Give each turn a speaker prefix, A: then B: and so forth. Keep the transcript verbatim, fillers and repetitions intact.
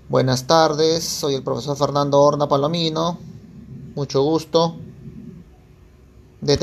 A: Buenas tardes, soy el profesor Fernando Horna Palomino, mucho gusto.